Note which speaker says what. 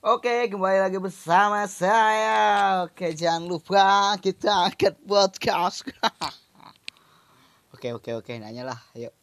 Speaker 1: Oke, kembali lagi bersama saya. Oke, jangan lupa kita angkat podcast. Oke, nanya lah, ayo.